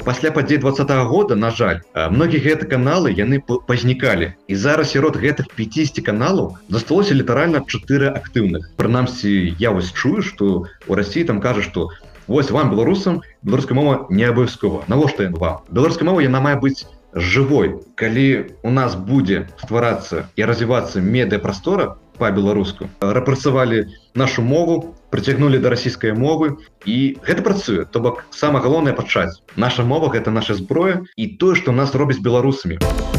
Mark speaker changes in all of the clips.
Speaker 1: Пасля падзей 20-го года, на жаль, многія гэты каналы яны пазнікалі. І зараз сярод гэтых 50 каналаў засталося літаральна 4 актыўных. Прынамсі, я вось чую, што ў Расіі там кажа, што вось вам, беларусам, беларуская мова не абавязкова. Навошта ён вам? Беларуская мова яна мае быць жывой. Калі у нас будзе стварацца і развівацца медыапрастора па-беларуску, рэпрэсавалі нашу мову, прыцягнулі да расійскай мовы, і гэта працуе. То бок, самае галоўнае пачаць. Наша мова — гэта наша зброя і тое, што нас робіць беларусамі.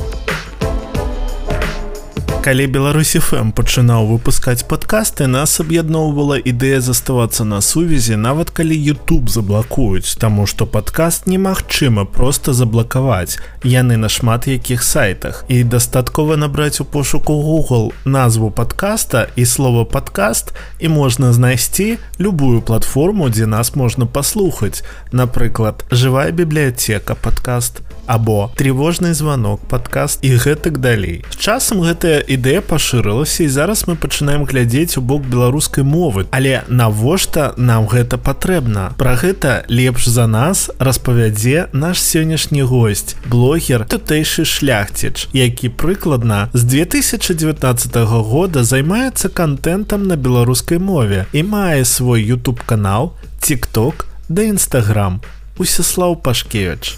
Speaker 2: Калі Беларусь FM пачынаў выпускаць падкасты, нас аб'ядноўвала ідэя заставацца на сувязі, нават калі YouTube заблакуюць, таму што падкаст немагчыма проста заблакаваць. Яны на шмат якіх сайтах. І дастаткова набраць у пошуку Google назву падкаста і слова «падкаст», і можна знайсці любую платформу, дзе нас можна паслухаць. Напрыклад, «Жывая бібліятэка» падкаст, або «Тревожны званок» падкаст і гэтак далей. З часам гэтая ідэя пашырылася, і зараз мы пачынаем глядзець у бок беларускай мовы. Але навошта нам гэта патрэбна? Пра гэта лепш за нас распавядзе наш сённяшні госць, блогер тутэйшы шляхціч, які прыкладна з 2019 года займаецца кантэнтам на беларускай мове і мае свой YouTube-канал, TikTok да Instagram. Усяслаў Пашкевіч.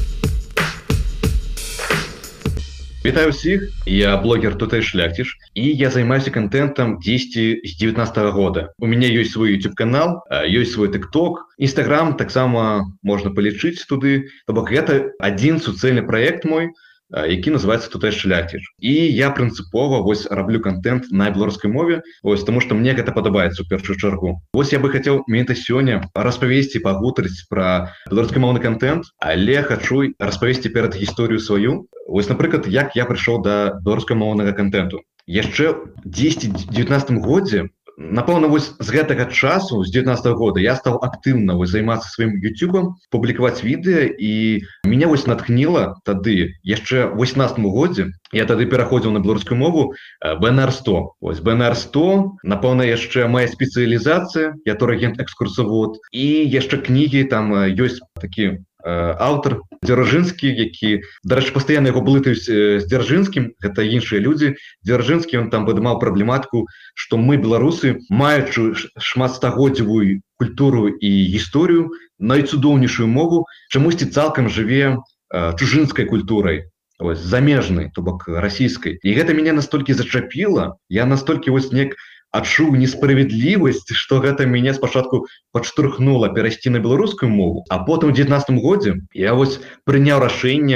Speaker 1: Вітаю ўсіх, я блогер тутэйшы шляхціч, і я займаюся контентом 10 з 19 года. У мяне ёсць свой YouTube-канал, ёсць свой TikTok, Instagram таксама можна палічыць туды. То бок гэта адзін суцэльны праект мой, які называецца тутэйшы шляхціч. І я прынцыпова вось раблю контент на беларускай мове, вось таму што мне гэта падабаецца ў першую чаргу. Вось я бы хацеў менавіта сёння распавесці, пагутарыць пра беларускамоўны контент, але хачу распавесці перад гісторыю сваю. Вось, напрыклад, як я прыйшоў да беларускамоўнага контенту. Яшчэ ў 10-19 годзе, напэўна, вось з гэтага часу, з 19 года, я стаў актыўна займацца сваім YouTube, публікаваць відэа, і мяне вось натхніла тады, яшчэ ў 18 годзе, я тады пераходзіў на беларускую мову, БНР-100. Вось БНР-100, напэўна, яшчэ моя спецыялізацыя, я турагент-экскурсавод, і яшчэ кнігі, там ёсць такі аўтар Дзяржынскі, які, дарэчы, пастаянна яго блытаюць з Дзяржынскім, гэта іншыя людзі. Дзяржынскі, ён там падымаў праблематыку, што мы, беларусы, маючы шматстагоддзевую культуру і гісторыю, найцудоўнейшую мову, чамусьці цалкам жыве чужынскай культурай, ось, замежнай, то бок расійскай. І гэта мяне настолькі зачапіла, я настолькі вось неяк адчуў несправядлівасць, што гэта мяне спачатку падштурхнула перайсці на беларускую мову, а потым у 19 годзе я вось прыняў рашэнне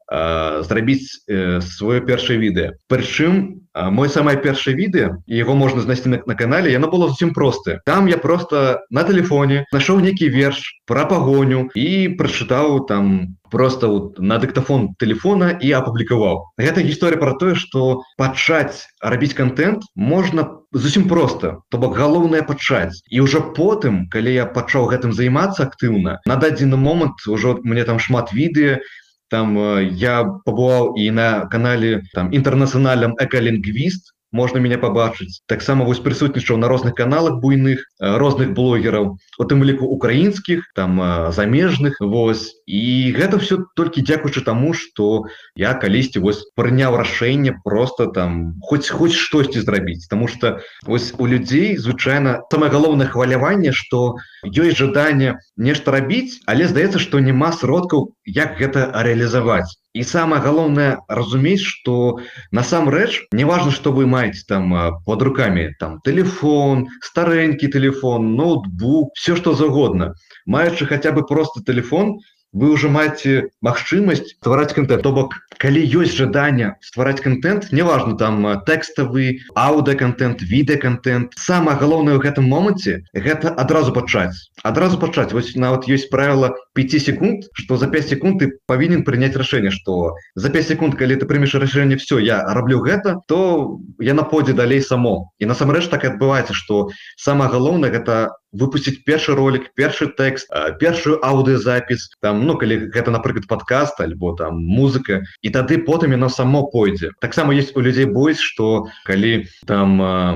Speaker 1: зрабіць сваё першае відэа. Прычым, мой самае першае відэа, яго можна знайсці на канале, яно было зусім простае. Там я просто на тэлефоне нашоў нейкі верш пра пагоню і прачытаў там просто на дыктафон тэлефона і апублікаваў. Гэта гісторыя пра тое, што пачаць рабіць контент можна зусім проста, то бок галоўнае пачаць. І ўжо потым, калі я пачаў гэтым займацца актыўна, на дадзены момант ужо мне там шмат відэа, там я пабываў і на канале там інтэрнацыянальным экалінгвіст, можна мяне пабачыць. Таксама вось прысутнічаў на розных каналах буйных, розных блогераў, у тым ліку украінскіх, там замежных, вось. І гэта все толькі дзякуючы таму, што я калісьці вось прыняў рашэнне просто там хоць штосьці зрабіць, таму што вось у людзей звычайна самае галоўнае хваляванне, што ёсць жаданне нешта рабіць, але здаецца, што няма сродкаў, як гэта рэалізаваць. І самае галоўнае разумець, што насамрэч не важна, што вы маеце там под руками, там тэлефон, старэнькі тэлефон, ноутбук, все што заўгодна. Маючы хаця бы просто тэлефон, вы ўжо маеце магчымасць ствараць контент. То бок, калі ёсць жаданне ствараць контент, неважна там тэкставы, аўдыаконтент, відэаконтент, самае галоўнае ў гэтым моманце гэта адразу пачаць. Адразу пачаць. Вось нават ёсць правіла 5 секунд, што за 5 секунд ты павінен прыняць рашэнне, што за 5 секунд, калі ты прымеш рашэнне, все, я раблю гэта, то яна пойдзе далей само. І насамрэч так адбываецца, што самае галоўнае гэта выпусціць першы ролик, першы тэкст, першую аўдыёзапіс, там, калі гэта, напрыклад, падкаст альбо там музыка, і тады потым яно само пойдзе. Таксама ёсць у людзей бойс, што калі там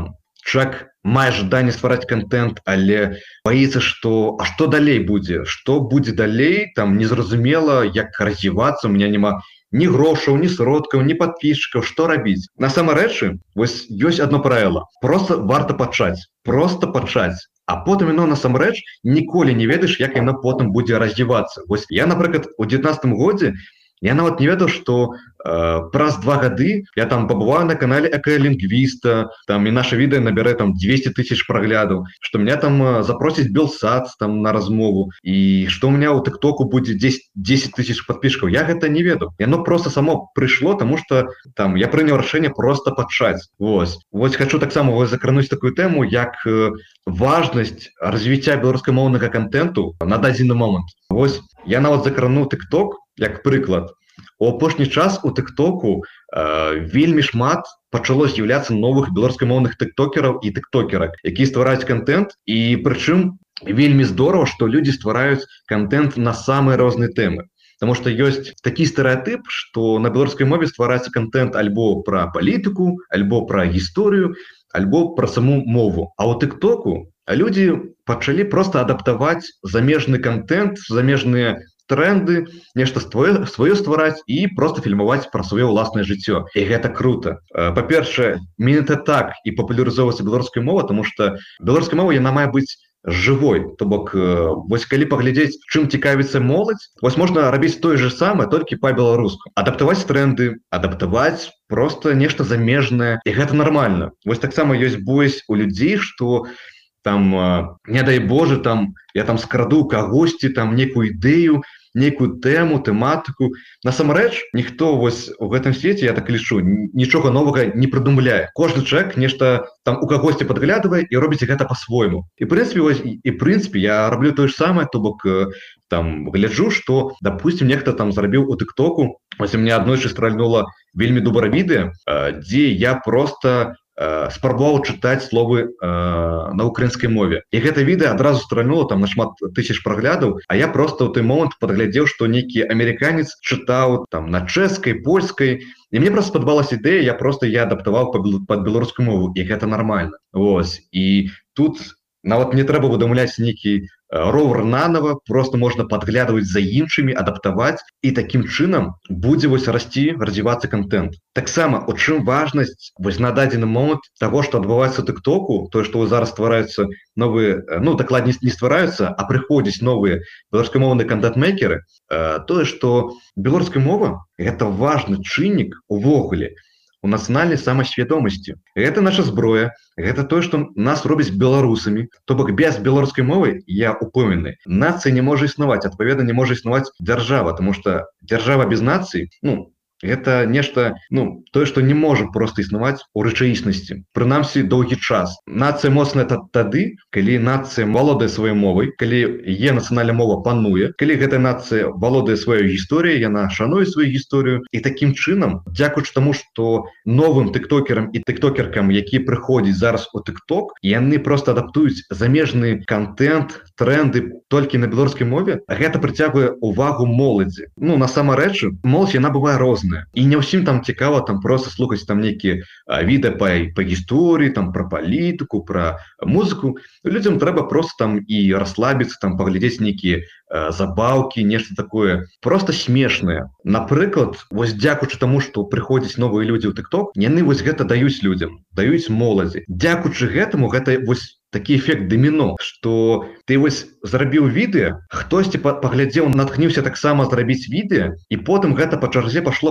Speaker 1: чалавек мае жаданне ствараць контент, але боится, что что далей будзе, что будзе далей, там незразумела, як развівацца, у меня няма ні грошаў, ні сродкаў, ні подписчиков, что рабіць. Насамрэчы, вось ёсць одно правило: просто варта пачаць, а потым яно насамрэч ніколі не ведаеш, як яно потым будзе развівацца. Вось я, напрыклад, у 19 годзе я нават не ведаў, што праз 2 гады я там пабываю на канале эколингвиста, там і наше відэо набярэ там 200 тысяч праглядаў, што меня там запросіць Белсат там на размову, і што у меня у тиктоку будзе 10 тысяч подписчиков. Я гэта не ведаў. Яно просто само прыйшло, тому что там я прыняў рашэнне просто пачаць. Вось хочу таксама закрануць такую тэму, як важнасць развіцця беларускамоўнага контенту на дадзены момант. Вось я нават закрану тикток як прыклад. У апошні час у тиктоку вельмі шмат пачало з'яўляцца новых беларускамоўных тиктокераў і тиктокерак, якія ствараюць контент, і прычым вельмі здорава, што людзі ствараюць контент на самыя розныя тэмы. Потому что ёсць такі стэрэатып, што на беларускай мове ствараецца контент альбо пра палітыку, альбо пра гісторыю, альбо пра саму мову. А ў тиктоку людзі пачалі просто адаптаваць замежны контент, замежныя тренды, нешта сваё ствараць і просто фільмаваць пра сваё ўласнае жыццё. І гэта круто. Па-першае, менавіта так і папулярызоўваецца беларуская мова, тому што беларуская мова яна мае быць жывой. То бок, вось калі паглядзець, чым цікавіцца моладзь, вось можна рабіць тое же самае, толькі па-беларуску. Адаптаваць тренды, адаптаваць просто нешта замежнае, і гэта нармальна. Вось таксама ёсць бойсь у людзей, што там, не дай Боже, там я там скраду кагосьці там некую ідэю, некую тэму, тэматыку. Насамрэч, ніхто вось у гэтым свеце, я так лічу, нічога новага не прыдумляе. Кожны чалавек нешта там у кагосьці падглядывае і робіць гэта по-свойму. І прынцыпе, я раблю тое ж самае, то бок там гляджу, што, допустим, нехта там зрабіў у тиктоку, вось у меня аднойчы стральнула вельмі добрае відэо, дзе я просто спрабаваў чытаць словы на украінскай мове. І гэта відэо адразу стральнула там на шмат тысяч праглядаў, а я просто ў той момант падглядзеў, што нейкі амерыканец чытаў там на чэшскай, польскай, і мне просто спадабалася ідэя, я адаптаваў пад беларускую мову, і гэта нармальна. Вось. І тут нават не трэба выдумляць нейкі ровер нанова, просто можна падглядваць за іншымі, адаптаваць, і такім чынам будзе вось расці, развівацца контент. Таксама, у чым важнасць вось на дадзены момант таго, што адбываецца ў тиктоку, тое, што зараз ствараюцца новыя, дакладней не ствараюцца, а прыходзяць новыя беларускамоўныя контент-мейкеры, тое, што беларуская мова – гэта важны чыннік увогуле у нацыянальнай самасвядомасці. Гэта наша зброя, гэта тое, што нас робіць беларусамі. То бок без беларускай мовы, я упэўнены, нацыя не можа існаваць, адпаведна не можа існаваць дзяржава, тому што дзяржава без нацыі, гэта нешта, тое, што не можа проста існаваць у рэчаіснасці. Прынамсі, доўгі час. Нацыя моцная тады, калі нацыя валодае сваёй мовай, калі яе нацыянальная мова пануе, калі гэтая нацыя валодае сваёй гісторыяй, яна шануе сваю гісторыю. І такім чынам, дзякуючы таму, што новым тиктокерам і тиктокеркам, які прыходзяць зараз у тикток, яны просто адаптуюць замежны контент, тренды толькі на беларускай мове, гэта прыцягвае увагу моладзі. Насамрэч, моладзь яна бывае розная. І не ўсім там цікава там просто слухаць там нейкія відэа па гісторыі, там пра палітыку, пра музыку. Людзям трэба просто там і расслабіцца, там паглядзець нейкія забаўкі, нешта такое просто смешнае. Напрыклад, вось дзякуючы таму, што прыходзяць новыя людзі ў тикток, яны вось гэта даюць людзям, даюць моладзі. Дзякуючы гэтаму гэта вось такі эфект даміно, што ты вось зрабіў відэа, хтосьці паглядзеў, натхніўся таксама зрабіць відэа, і потым гэта па чарзе пашло,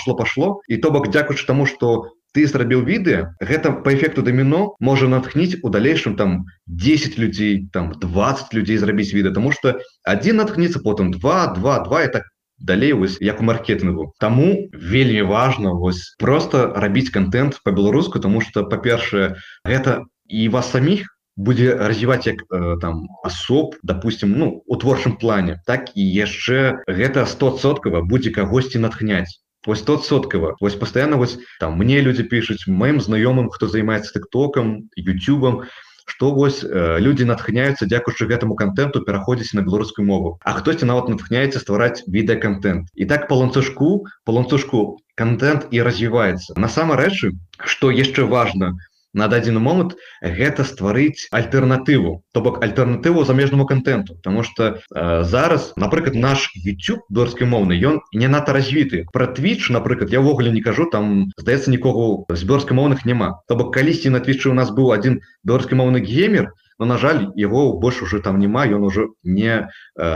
Speaker 1: і то бок дзякуючы таму, што ты зрабіў відэа, гэта па эфекту даміно можа натхніць у далейшым там 10 людзей, там 20 людзей зрабіць відэа, таму што адзін натхніцца, потым 2, і так далей, вось як у маркетынгу. Таму вельмі важна вось просто рабіць контент па-беларуску, таму што, па-першае, гэта і вас саміх будзе развіваць як там асоб, допустим, у творчым плане, так і яшчэ гэта 100% будзе кагосьці натхняць. Вось 100%. Вось пастаянна вось там мне людзі пішуць, маім знаёмым, хто займаецца тиктокам, ютубам, што вось людзі натхняюцца дзякуючы гэтаму контенту пераходзіць на беларускую мову. А хтосьці нават натхняецца ствараць відэаконтент. І так па ланцужку контент і развіваецца. Насамрэч, што яшчэ важна, на дадзены момант гэта стварыць альтэрнатыву, то бок альтэрнатыву замежнаму контенту, потому что зараз, напрыклад, наш YouTube беларускамоўны ён не надта развіты. Про Twitch, напрыклад, я ўвогуле не кажу, там здаецца нікога з беларускамоўных няма. То бок калісьці на Twitch у нас быў один беларускамоўны геймер, но, на жаль, его больше уже там нема, ён уже не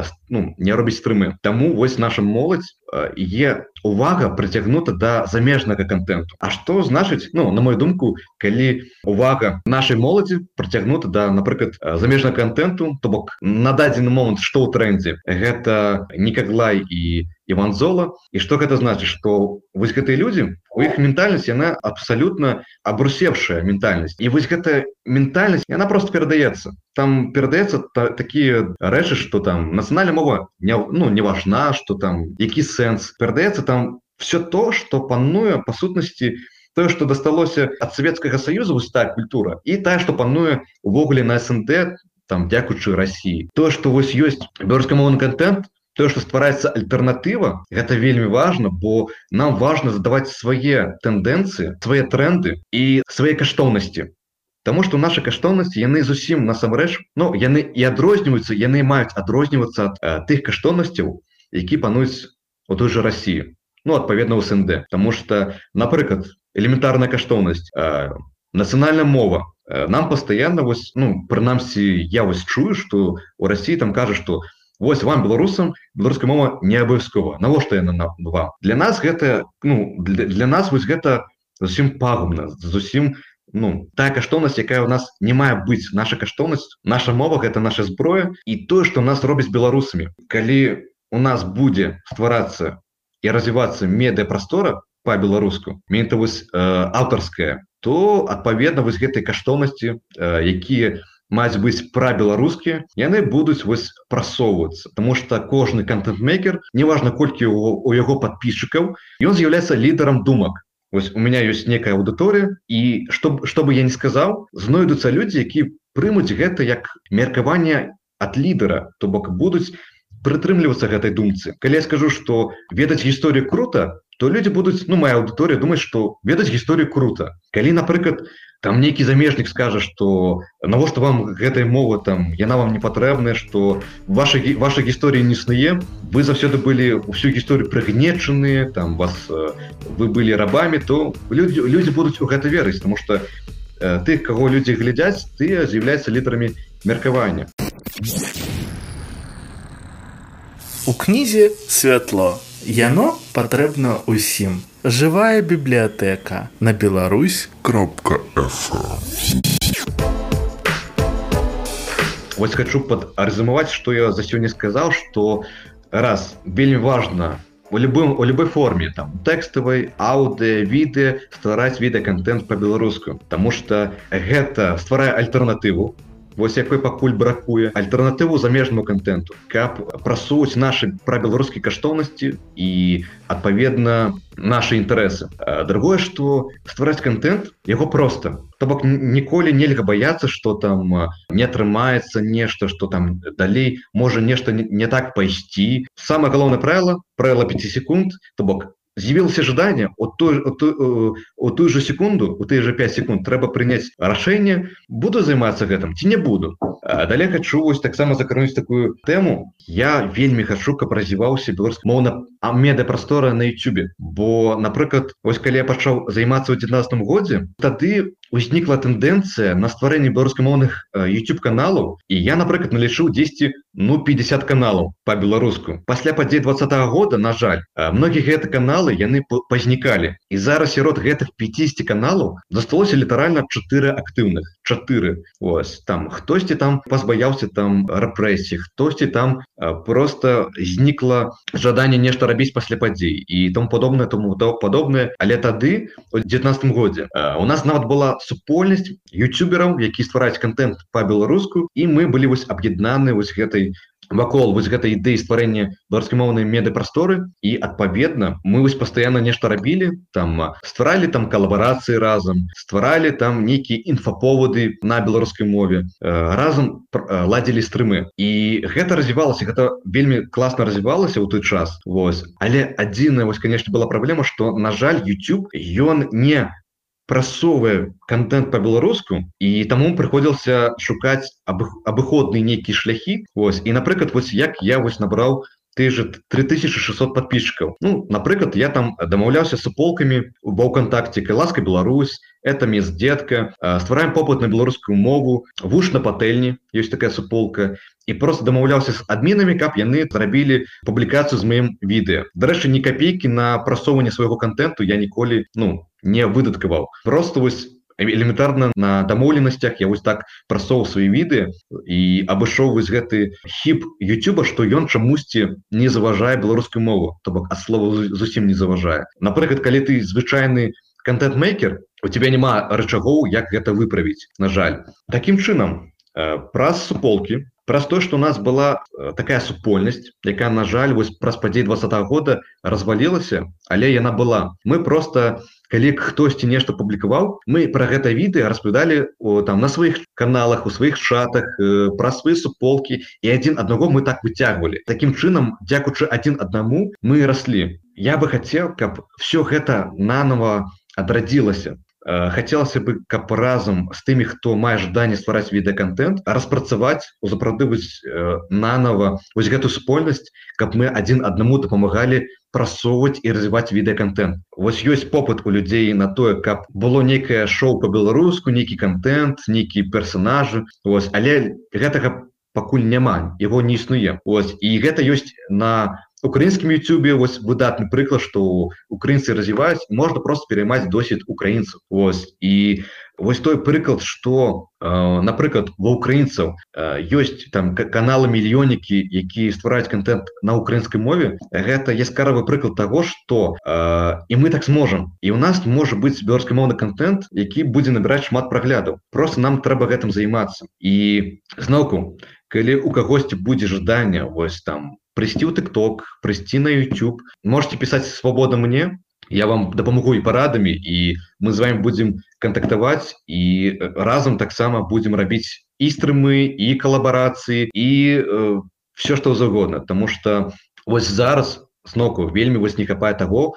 Speaker 1: робіць стрымы. Таму вось наша моладзь є увага прыцягнута да замежнага контенту. А што значыць, на мою думку, калі увага нашай моладзі прыцягнута да, напрыклад, замежнага контенту, то бок на дадзены момант што ў трендзе, гэта Никаглай і Іван Зола. І што гэта значыць, што вось гэтыя людзі, у іх ментальнасць, яна абсалютна абрусевшая ментальнасць. І вось гэтая ментальнасць, яна просто перадаецца. Там перадаецца такія рэчы, што там нацыянальная мова не важна, што там які сэнс. Перадаецца там все то, што пануе па сутнасці тое, што дасталося ад Савецкага Саюза, вось тая культура, і тая, што пануе увогуле на СНД, там дзякуючы Расіі. Тое, што вось ёсць беларускамоўны контент, тое, што ствараецца альтэрнатыва, гэта вельмі важна, бо нам важна задаваць свае тэндэнцыі, свае тренды і свае каштоўнасці. Таму што нашы каштоўнасці, яны зусім насамрэч, яны і адрозніваюцца, яны маюць адрознівацца ад тых каштоўнасцяў, які пануюць у той жа Расіі, адпаведна ў СНД. Таму што, напрыклад, элементарная каштоўнасць, нацыянальная мова. Нам пастаянна, прынамсі, я чую, што ў Расіі там кажа, што вось вам, беларусам, беларуская мова не абавязкова. Навошта яна вам? Для нас гэта, для нас вось гэта зусім пагубна, зусім тая каштоўнасць, якая ў нас не мае быць. Наша каштоўнасць, наша мова гэта наша зброя і тое, што нас робіць беларусамі. Калі у нас будзе стварацца і развівацца медыяпрастора па-беларуску, менавіта вось аўтарская, то адпаведна вось гэтай каштоўнасці, якія маюць быць пра-беларускія, яны будуць вось прасоўвацца. Таму што кожны контент-мейкер, неважна колькі у яго падпісчыкаў, ён з'яўляецца лідарам думак. Вось у меня ёсць некая аўдыторыя, і што бы я не сказаў, знойдуцца людзі, які прымуць гэта як меркаванне ад лідара, то бок будуць прытрымлівацца гэтай думцы. Калі я скажу, што ведаць гісторыю крута, то людзі будуць, моя аўдыторыя думаць, што ведаць гісторыю крута. Калі, напрыклад, там нейкі замежнік скажа, што навошта вам гэтая мова, там яна вам не патрэбная, што ваша гісторыя не існуе, вы заўсёды былі ўсю гісторыю прыгнечаныя, там вы былі рабамі, то людзі будуць у гэта верыць, таму што тых, каго людзі глядзяць, тыя з'яўляюцца лідарамі меркавання.
Speaker 2: У кнізе святло. Яно патрэбна ўсім. Жывая бібліятэка на Беларусь.фм.
Speaker 1: Вось хочу падрэзюмаваць, што я за сёння сказаў, што раз, вельмі важна у любой форме, там, тэкставай, аўдыё, відэа, ствараць відэаконтент па-беларуску. Таму што гэта стварае альтэрнатыву, вось якой пакуль бракуе, альтэрнатыву замежнаму контенту, каб прасоўваць нашы пра-беларускія каштоўнасці і, адпаведна, нашы інтарэсы. Другое, што ствараць контент, яго проста. То бок ніколі нельга баяцца, што там не атрымаецца нешта, што там далей можа нешта не так пайсці. Самае галоўнае правіла 5 секунд, то бок з'явілася жаданне, у тую же секунду, у тыя же 5 секунд трэба прыняць рашэнне, буду займацца гэтым ці не буду. Далей хочу вось таксама закрануць такую тэму. Я вельмі хачу, каб развіваўся беларускамоўна медыяпрастора на YouTube. Бо, напрыклад, вось калі я пачаў займацца ў 19 годзе, тады узнікла тэндэнцыя на стварэнне беларускамоўных YouTube-каналаў, і я, напрыклад, налічыў 50 каналаў па-беларуску. Пасля падзей 20-го года, на жаль, многія гэты каналы, яны пазнікалі. І зараз сярод гэтых 50 каналаў засталося літаральна 4 актыўных. 4. Ось, там, хтосьці там пазбаяўся там рэпрэсій, хтосьці там просто знікла жаданне нешта рабіць пасля падзей і тому падобнае. Але тады, у 19 годзе, у нас нават была супольнасць ютубераў, які ствараюць контент па-беларуску, і мы былі вось аб'яднаны вось гэтай вакол вось гэтай ідэі стварэння беларускамоўнай медыяпрасторы, і адпаведна мы вось пастаянна нешта рабілі, там стваралі там калабарацыі разам, стваралі там нейкія інфаповады на беларускай мове, разам ладзілі стрымы. І гэта развівалася, гэта вельмі класна развівалася ў той час. Вось. Але адзіная вось, канешне, была праблема, што, на жаль, YouTube, ён не прасоўвае контент по-беларуску, і таму прыходзілася шукаць абыходныя нейкія шляхі. Вось, і напрыклад, вось як я вось набраў ты же 3600 подписчиков. Ну, например, я там домовлялся с суполками в ВКонтакте, Ласка Беларусь, это мест детка, ствараем попыт на белорусскую мову, вуш на пательне, есть такая суполка, и просто домовлялся с админами, как яны зрабілі публикацию с моим видео. До речі, ни копейки на просовывание своего контенту я ніколі, не выдаткаваў. Просто вось элементарна на дамоўленасцях я вось так прасоўваў свае відэа і абышоў вось гэты хіп Ютуба, што ён чамусьці не заважае беларускую мову, то бок ад слова зусім не заважае. Напрыклад, калі ты звычайны контент-мейкер, у тебя няма рычагоў, як гэта выправіць, на жаль. Такім чынам, праз суполкі, праз то, што у нас была такая супольнасць, якая, на жаль, вось праз падзеі 2020 года развалілася, але яна была. Мы просто, калі хтосьці нешта публікаваў, мы пра гэта відэа распавядалі там на сваіх каналах, у сваіх чатах, пра свае суполкі, і адзін аднаго мы так выцягвалі. Такім чынам, дзякуючы адзін аднаму, мы раслі. Я бы хацеў, каб все гэта нанова адрадзілася. Хацелася бы, каб разам з тымі, хто мае жаданне ствараць відэаконтент, распрацаваць, узапраўдваць нанова вось гэту супольнасць, каб мы адзін аднаму дапамагалі прасоўваць і развіваць відэаконтент. Вось ёсць попыт у людзей на тое, каб было нейкае шоу па-беларуску, нейкі контент, нейкія персонажы, вось, але гэтага пакуль няма, яго не існуе. Вось, і гэта ёсць на украінскім Ютубе, вось выдатны прыклад, што украінцы развіваюць, можна проста пераймаць досвед украінцаў. Вось, і вось той прыклад, што, напрыклад, ва украінцаў ёсць там каналы-мільённікі, якія ствараюць контент на украінскай мове, гэта яскравы прыклад таго, што і мы так зможам. І ў нас можа быць беларускамоўны контент, які будзе набіраць шмат праглядаў. Просто нам трэба гэтым займацца. І зноўку, калі у кагосьці будзе жаданне, вось там, прийти в TikTok, прийти на YouTube. Можете писать свободно мне, я вам допомогу и порадами, и мы с вами будем контактовать, и разом так само будем робить и стримы, и коллаборации, и все, что угодно. Потому что вот зараз, зноку, вельми вось не хапае того,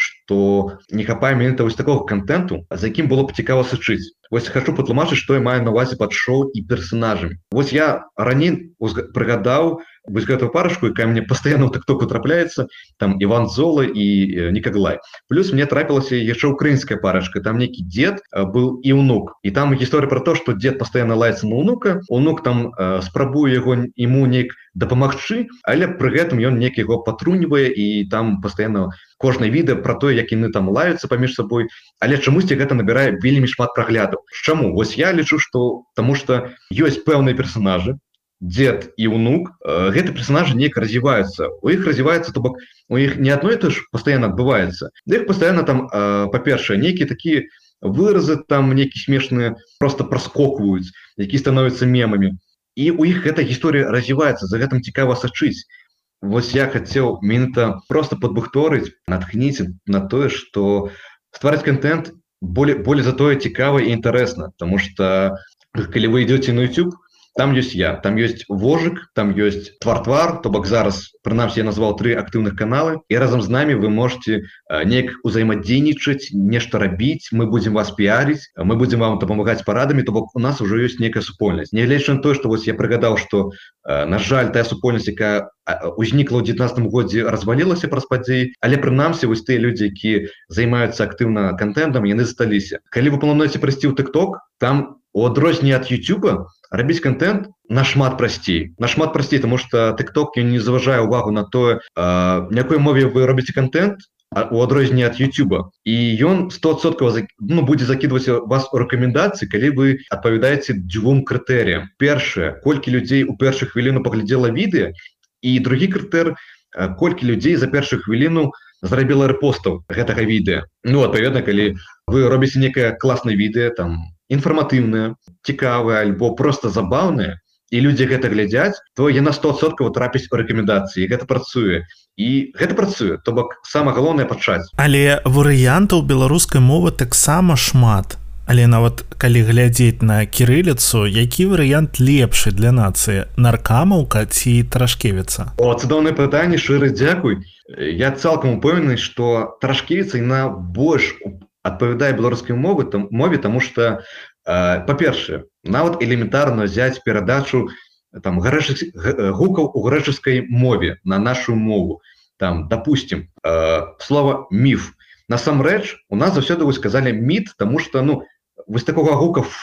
Speaker 1: что не хапае менавіта вось такого контенту, за яким было б цікава сачыць. Вось хочу патлумачыць, што я маю на увазе пад шоу і персонажамі. Вось я раней прыгадаў вось гэтую парашку, якая мне пастаянна ў тыктоку трапляецца, там Іван Зола і Нікаглай. Плюс мне трапілася яшчэ украінская парашка, там нейкі дзед быў і ўнук. І там гісторыя пра то, што дзед пастаянна лаецца на ўнука, ўнук там спрабуе яму неяк дапамагчы, але пры гэтым ён неяк яго патруньвае, і там пастаянна кожнае відэа пра тое, як яны там лаюцца паміж сабой, але чамусьці гэта набірае вельмі шмат праглядаў. Чаму? Вось я лічу, што таму што ёсць пэўныя персонажы, дед і ўнук, гэты персонажы неяк развіваюцца. У іх развіваецца, то бок у іх не адно і то ж пастаянна адбываецца. Да іх пастаянна там, па-першае, нейкія такія выразы там нейкія смешныя просто праскокваюць, якія становяцца мемамі. І у іх гэта гісторыя развіваецца, за гэтым цікава сачыць. Вось я хацеў менавіта просто падбухторыць, натхніць на тое, што ствараць контент более затое цікава і інтарэсна, потому что калі вы идете на YouTube, там есть я, там есть Вожик, там есть Твар-Твар, то бок зараз, прынамсі, я назвал 3 актыўных каналы, і разам з намі вы можете неяк узаемадзейнічаць, нешта рабіць, мы будем вас піаріць, мы будем вам дапамагаць парадамі, то бок у нас уже ёсць нейкая супольнасць. Нягледзячы на тое, што вось я прыгадаў, што, на жаль, тая супольнасць, якая узнікла ў 19 годзе, развалілася праз падзеі, але прынамсі вось тыя людзі, якія займаюцца актыўна контентам, яны засталіся. Калі вы плануеце прыйсці ў TikTok, там у адрозненні ад YouTube рабіць контент нашмат прасцей, тому что TikTok не заважае увагу на тое, на якой мове вы робіце контент, у адрозненні ад YouTube. І ён 100% будзе закидваць вас у рэкамендацыі, калі вы адпавядаеце 2 крытэрыям. Першае, колькі людзей у першую хвіліну паглядзела відэа, і другі крытэр, колькі людзей за першую хвіліну зрабіла рэпостаў гэтага відэа. Адпаведна, калі вы робіце некае класнае відэа, там інфарматыўнае, цікавае, альбо просто забаўнае, і людзі гэта глядзяць, то яна 100% трапіць у рэкамендацыі, і гэта працуе. І гэта працуе, то бок самае галоўнае пачаць.
Speaker 2: Але варыянтаў беларускай мовы таксама шмат. Але нават калі глядзець на кірыліцу, які варыянт лепшы для нацыі? Наркамаўка ці Тарашкевіца?
Speaker 1: Цудоўнае пытанне, шчыры дзякуй. Я цалкам упэўнены, што Тарашкевіца яна больш адпавядае беларускай мове, таму што па-першае, нават элементарна взять перадачу там гукаў у грэчаскай мове на нашу мову. Там, допустим, слово міф. Насамрэч, у нас заўсёды вось сказалі міт, таму што вось такога гука «ф»,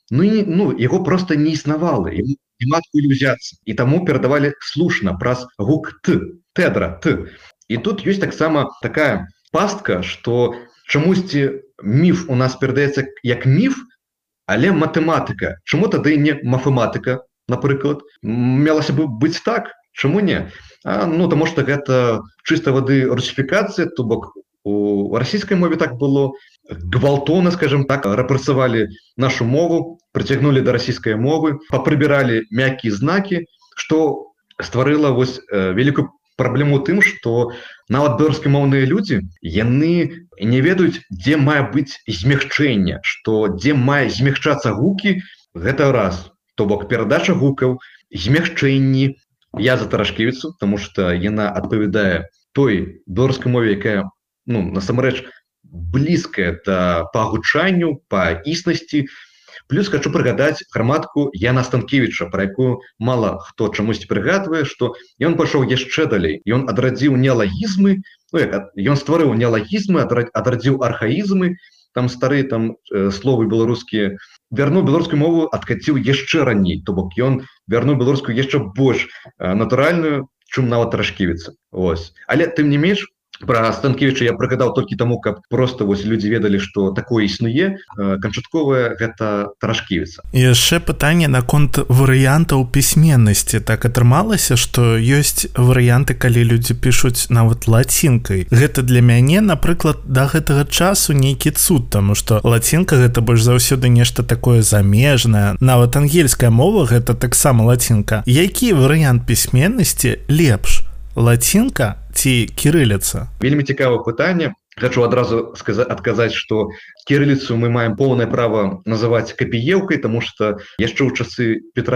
Speaker 1: яго просто не існавала, няма адкуль узяцца. І таму перадавалі слушна праз гук «т», «тедра», «т». І тут ёсць таксама такая пастка, што чамусьці міф у нас перадаецца як міф, але матэматыка. Чаму тады не мафематыка, напрыклад? Мелася бы быць так, чаму не? Таму што гэта чыстай вады русіфікацыя, то бок у расійскай мове так было, гвалтоўна, скажем так, рэпрэсавалі нашу мову, прыцягнулі да расійскай мовы, папрыбіралі мяккія знакі, што стварыла вось вялікую праблему ў тым, што нават беларускамоўныя людзі, яны не ведаюць, дзе мае быць змягчэнне, што дзе мае змягчацца гукі, гэта раз. То бок перадача гукаў, змягчэнні. Я за Тарашкевіцу, таму што яна адпавядае той беларускай мове, якая, насамрэч, блізкая па гучанню, па існасці. Плюс хочу прыгадаць граматку Яна Станкевіча, пра якую мала хто чамусьці прыгадвае, што ён пайшоў яшчэ далей. Ён адрадзіў неалагізмы, ён стварыў неалагізмы, адрадзіў архаізмы, там старыя словы беларускія, вярнуў беларускую мову, адкаціў яшчэ раней, то бок ён вярнуў беларускую яшчэ больш натуральную, чым нават Тарашкевіца. Але тым не менш, пра Станкевіча я прыгадаў толькі таму, каб просто людзі ведалі, што такое існуе, канчатковае гэта Тарашкевіца.
Speaker 2: І яшчэ пытанне наконт варыянтаў пісьменнасці. Так атрымалася, што ёсць варыянты, калі людзі пішуць нават лацінкай. Гэта для мяне, напрыклад, да гэтага часу нейкі цуд, таму што лацінка гэта больш заўсёды нешта такое замежнае. Нават ангельская мова гэта таксама лацінка. Які варыянт пісьменнасці лепш? Лацінка ці кірыліца?
Speaker 1: Вельмі цікавае пытанне. Хочу адразу адказаць, што кірыліцу мы маем поўнае права называць капіеўкай, таму што яшчэ ў часы Петра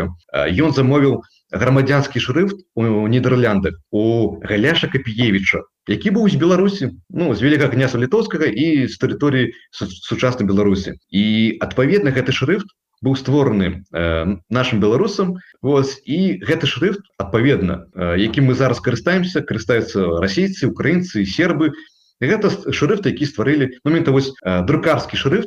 Speaker 1: I ён замовіў грамадзянскі шрыфт у Нідерландах у Галяша Капіевіча, які быў з Беларусі, з Вялікага княства Літоўскага і з тэрыторыі сучаснай Беларусі. І адпаведна гэты шрыфт быў створаны нашим беларусам, і гэты шрыфт, адпаведна, якім мы зараз карыстаемся, карыстаюцца расейцы, украінцы, сербы. Гэта шрыфт, які стварылі, друкарскі шрыфт,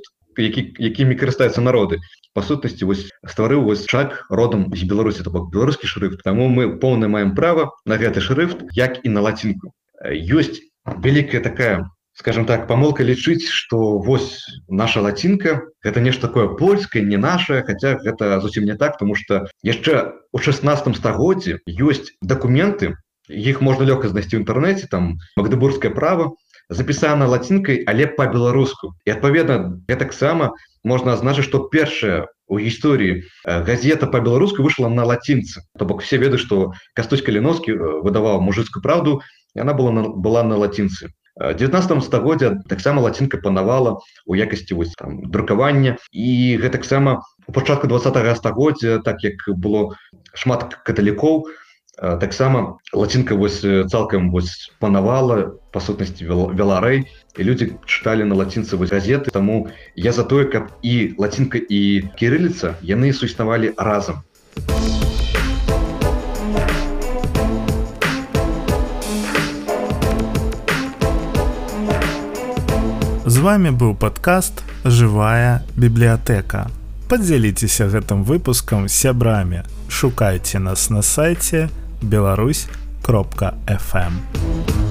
Speaker 1: якімі карыстаюцца народы. Па сутнасці, стварыў Чак родам з Беларусі, то бок беларускі шрыфт. Таму мы поўна маем права на гэты шрыфт, як і на лацінку. Ёсць вялікая такая, скажем так, памылка лічыць, што наша лацінка гэта нешта такое польскае, не нашае, хаця гэта зусім не так, тому што яшчэ ў 16 стагоддзі ёсць дакументы, іх можна лёгка знайсці ў інтэрнэце, там Магдебургскае права, запісана лацінкай, але па-беларуску. І адпаведна, гэтаксама можна азначыць, што першая у гісторыі газета па-беларуску выйшла на лацінцы. То бок все ведаюць, што Кастусь Каліновскі выдаваў «Мужыцкую правду», яна была на лацінцы. В 19 стагоддзе таксама лацінка панавала у якасці друкавання, і гэтаксама у пачатку 20 стагоддзя, так як было шмат каталікоў, таксама лацінка цалкам панавала, па сутнасці вяла рэй, і людзі чыталі на лацінцы газеты. Таму я за тое, каб і лацінка, і кірыліца яны суіснавалі разам.
Speaker 2: З вами быў падкаст «Жывая бібліятэка». Падзяліцеся гэтым выпускам з сябрамі. Шукайце нас на сайце belarus.fm.